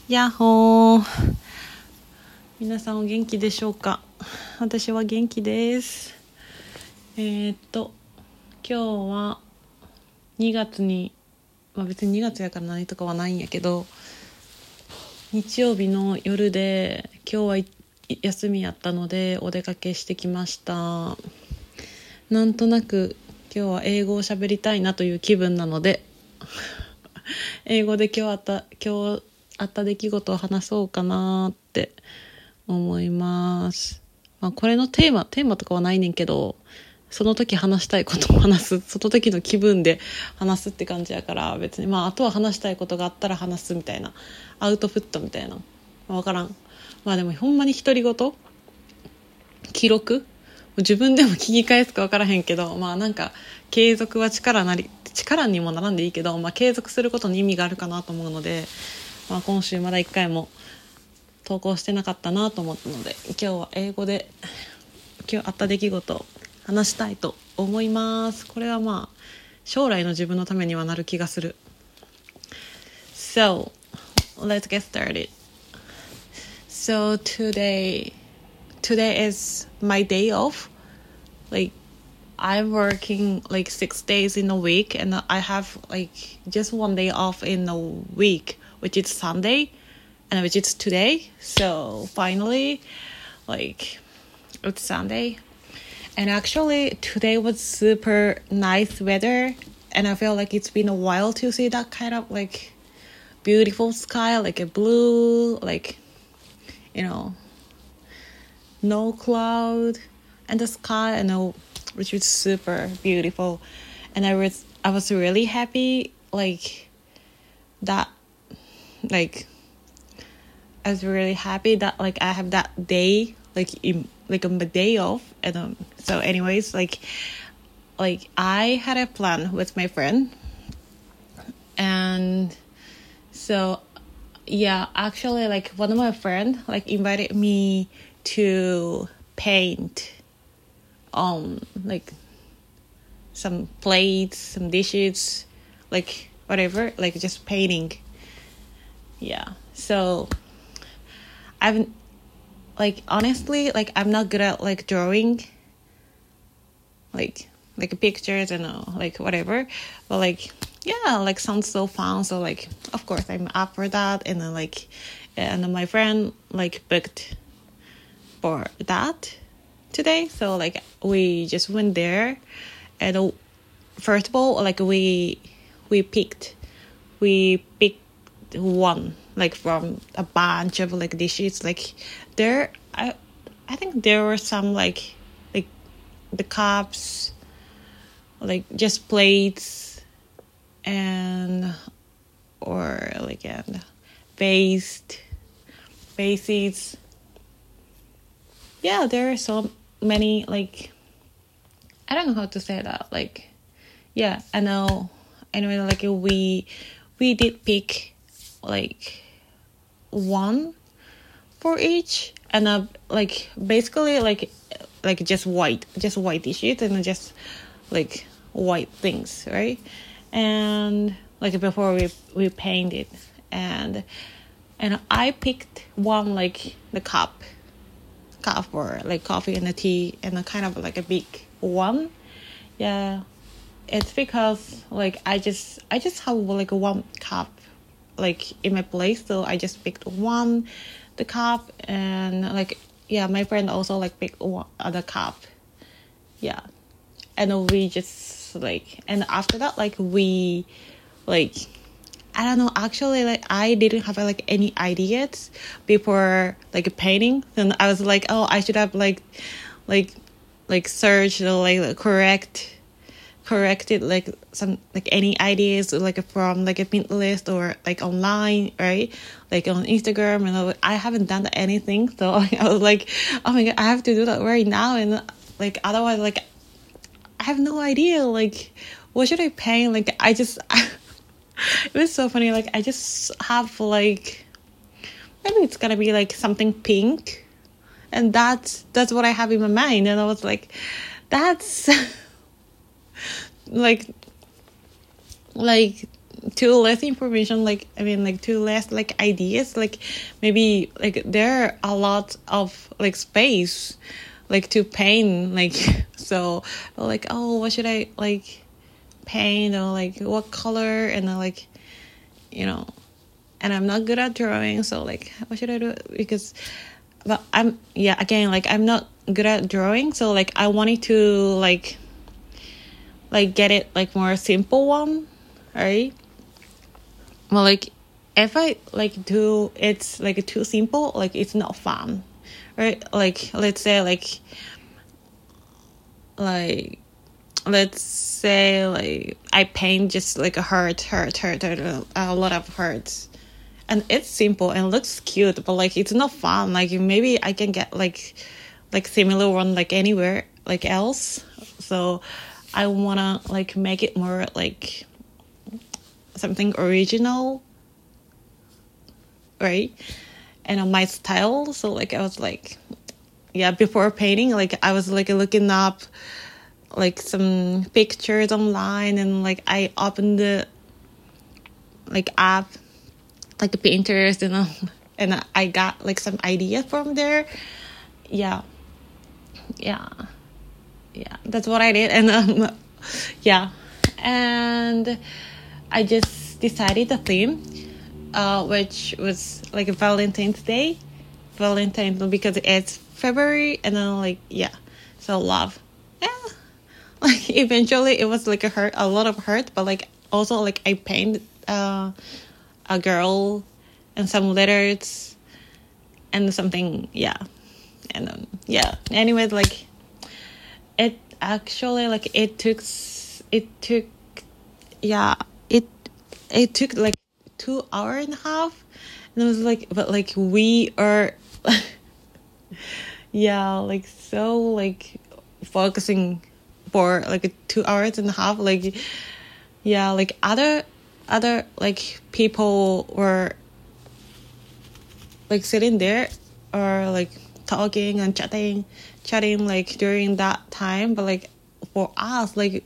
やっほー。皆さんお元気でしょうか。私は元気です。今日は2月に、別に2月やから何とかはないんやけど、日曜日の夜で今日は休みやったのでお出かけしてきました。なんとなく今日は英語を喋りたいなという気分なので英語で今日あった出来事を話そうかなって思います。これのテーマとかはないねんけど、その時話したいことを話す、その時の気分で話すって感じやから、別にあとは話したいことがあったら話すみたいな、アウトプットみたいな、分からん。でもほんまに独り言、記録、自分でも聞き返すか分からへんけど、なんか継続は力にもならんでいいけど、継続することに意味があるかなと思うので、今週まだ1回も投稿してなかったなと思ったので、今日は英語で今日あった出来事を話したいと思います。これは将来の自分のためにはなる気がする。 So let's get started. So today is my day off. Like I'm working like 6 days in a week, and I have like just 1 day off in a week, which is Sunday, and which is today. So finally, like, it's Sunday, and actually today was super nice weather, and I feel like it's been a while to see that kind of like beautiful sky, like a blue, like, no cloud and the sky, which was super beautiful. And I was really happy, that I was really happy that I have that day on my day off. And so anyways, I had a plan with my friend, and so yeah, actually one of my friend invited me to paint on some plates, some dishes, whatever, just painting. Yeah, so I've honestly I'm not good at drawing pictures and whatever, but yeah, sounds so fun. So of course I'm up for that, and then and my friend booked for that today. So we just went there, and first of all we picked one from a bunch of dishes. There I think there were some the cups, just plates, and vases. Yeah, there are so many I don't know how to say that. Yeah, I know. Anyway, we did pick one for each, and basically just white dishes, and just white things, right? And before we painted, and I picked one the cup for coffee and the tea, and a kind of a big one. Yeah, it's because I just have one cup in my place, so I just picked the cup, and yeah, my friend also picked one other cup. Yeah, and we just and after that we I don't know, actually I didn't have any ideas before painting, and I was oh, I should have searched corrected some any ideas from a Pinterest or online, right? On Instagram, and I haven't done anything, so I was oh my god, I have to do that right now, and otherwise I have no idea what should I paint. I just it was so funny, I just have maybe it's gonna be something pink, and that's what I have in my mind, and I was that's too less information, like I mean like too less like ideas, like maybe like there are a lot of like space like to paint, like so like, oh, what should I like paint, or like what color, and then like, you know, and I'm not good at drawing, so like what should I do, because but again, like I'm not good at drawing, so like I wanted to like get it like more simple one, right? Well, like if I like do it's like too simple, like it's not fun, right? Like let's say like let's say like I paint just like a heart, a lot of hearts, and it's simple and looks cute, but like it's not fun. Like maybe I can get like similar one like anywhere like else. So I wanna like make it more like something original, right? And on my style. So like I was like, before painting, like I was like looking up like some pictures online, and like I opened the like app like Pinterest, and I got like some ideas from there. Yeah, that's what I did. And and I just decided the theme, which was like Valentine's Day, because it's February, and then like so love. Like eventually it was like a lot of hurt, but like also like I painted a girl and some letters and something, and anyways, like it actually like it took like 2.5 hours, and it was like, but like we are like so like focusing for like 2.5 hours, like like other like people were like sitting there or like talking and chatting like during that time, but like for us, like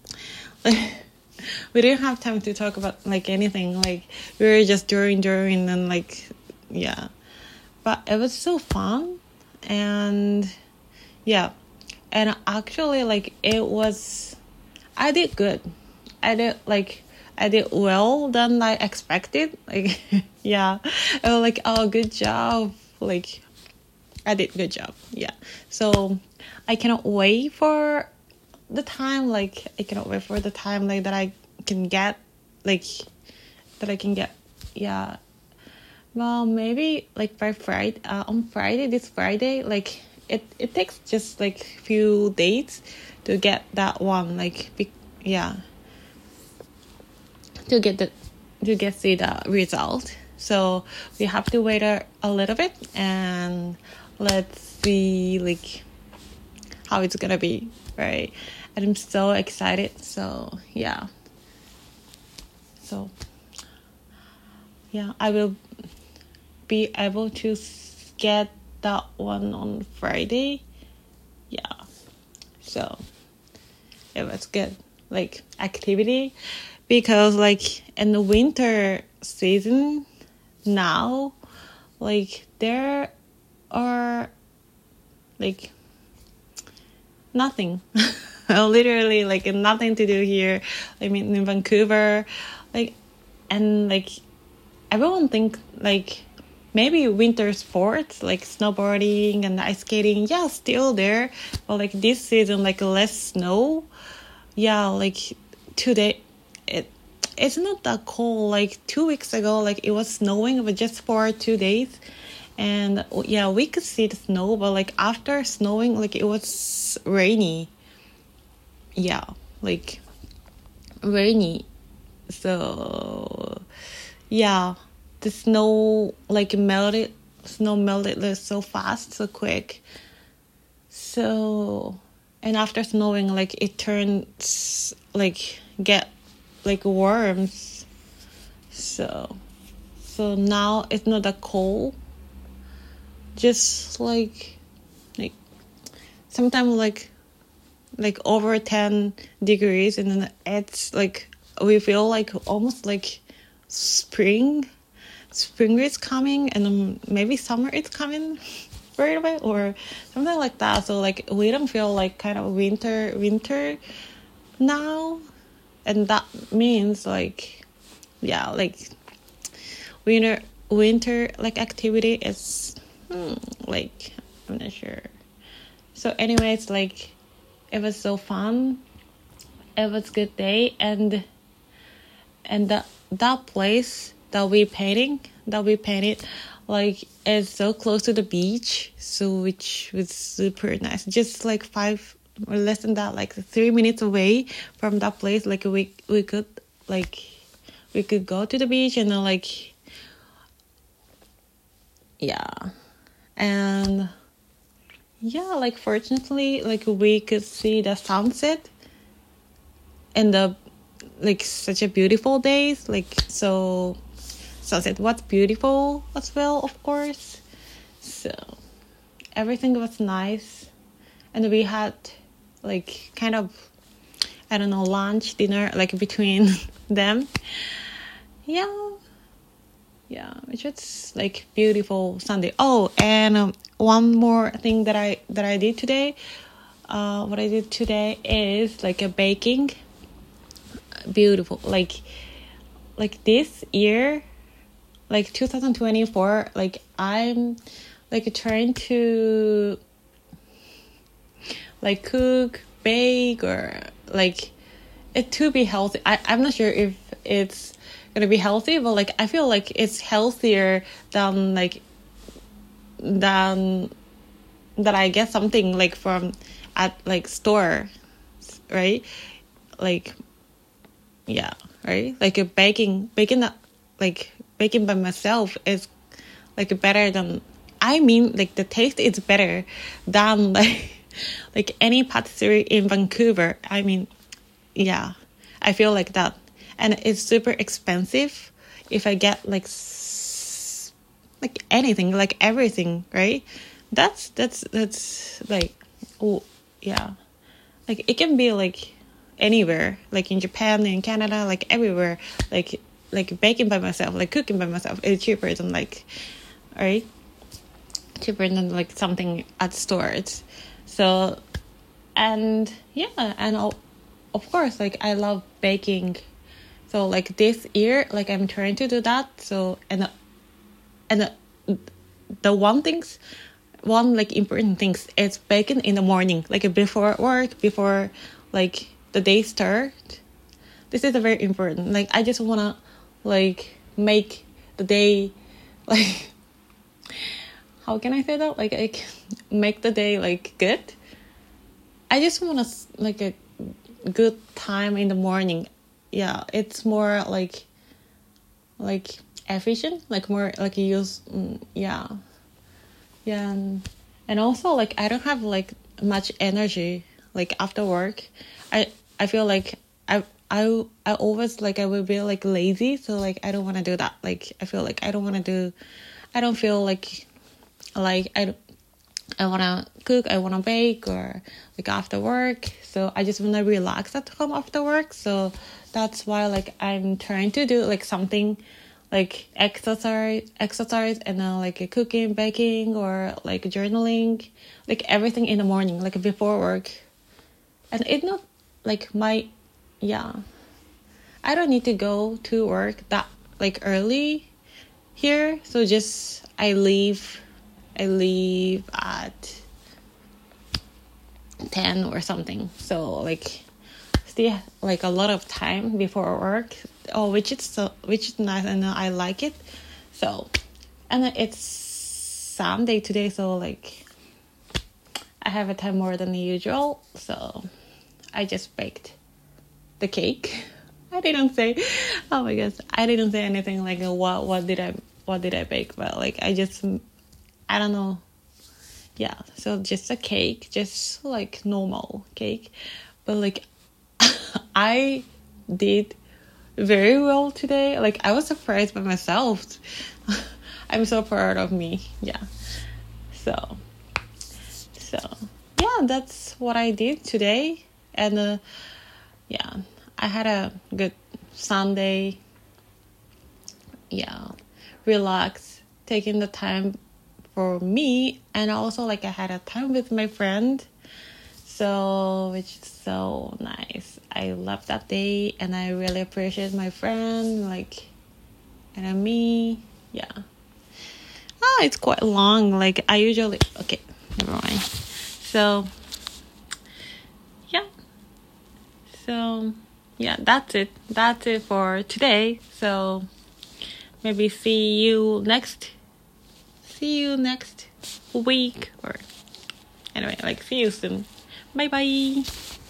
we didn't have time to talk about like anything, like we were just during and like but it was so fun. And and actually like I did good. I did well than I expected, like I was like, oh, good job, like I did good job. So I cannot wait for the time, like that I can get well, maybe like by Friday, this Friday, like it takes just like few days to get that one, like to see the result. So we have to wait a little bit, and let's see like how it's gonna be, right? And I'm so excited. So I will be able to get that one on Friday. So it was good, like activity, because like in the winter season now, like there are like nothing literally like nothing to do here. I mean, in Vancouver, like, and like everyone think like maybe winter sports like snowboarding and ice skating, still there, but like this season, like less snow. Like today it's not that cold. Like 2 weeks ago, like it was snowing, but just for 2 days. And we could see the snow, but like after snowing, like it was rainy. Like rainy. So the snow melted like, so fast, so quick. So, and after snowing, like it turns like get like worms. So now it's not that cold. Just like sometimes like over 10 degrees, and then it's like we feel like almost like spring is coming, and maybe summer is coming right away or something like that. So like we don't feel like kind of winter now, and that means like like winter like activity is like I'm not sure. So anyways, like it was so fun, it was good day, and that place that we painted like is so close to the beach, so which was super nice, just like 5 or less than that, like 3 minutes away from that place. Like we could go to the beach, and then like and like fortunately like we could see the sunset and the like such a beautiful days. Like so sunset was beautiful as well, of course. So everything was nice, and we had like kind of, I don't know, lunch, dinner, like between them. Which was like beautiful Sunday. Oh, and one more thing that I did today. What I did today is like a baking. Beautiful, like this year, like 2024, like I'm like trying to like cook, bake, or like it to be healthy. I'm not sure if it's gonna be healthy, but like I feel like it's healthier than that I get something like from at like store, right? Like right? Like a baking by myself is like better than, I mean, like the taste is better than like any patisserie in Vancouver. I mean, I feel like that. And it's super expensive if I get like anything, like everything, right? That's like, oh yeah, like it can be like anywhere, like in Japan, in Canada, like everywhere, like baking by myself, like cooking by myself is cheaper than like, right? Cheaper than like something at stores. So, and of course, like I love baking. So like this year, like I'm trying to do that. So and the one like important things is baking in the morning, like before work, before like the day start. This is a very important. Like I just wanna like make the day like, how can I say that? Like make the day like good. I just wanna like a good time in the morning. Yeah, it's more like efficient, like more like use. And also like I don't have like much energy like after work. I feel like I always like I will be like lazy, so like I don't want to do that. Like I feel like I don't feel like I want to cook, I want to bake, or like after work. So I just want to relax at home after work. So that's why like I'm trying to do like something like exercise and then like cooking, baking, or like journaling, like everything in the morning, like before work. And it's not like I don't need to go to work that like early here. So just I leave at 10 or something. So like still like a lot of time before work. Which is nice, and I like it. So, and it's Sunday today, so like I have a time more than usual. So I just baked the cake. I didn't say, oh my gosh, I didn't say anything like what did I bake, but like I don't know. Yeah, so just a cake, just like normal cake, but like I did very well today. Like I was surprised by myself. I'm so proud of me. So that's what I did today. And I had a good Sunday, relax, taking the time for me, and also like I had a time with my friend, so which is so nice. I love that day, and I really appreciate my friend, like, and me. It's quite long. Like I usually never mind. So that's it for today. So maybe see you next week, or anyway, like see you soon. Bye bye.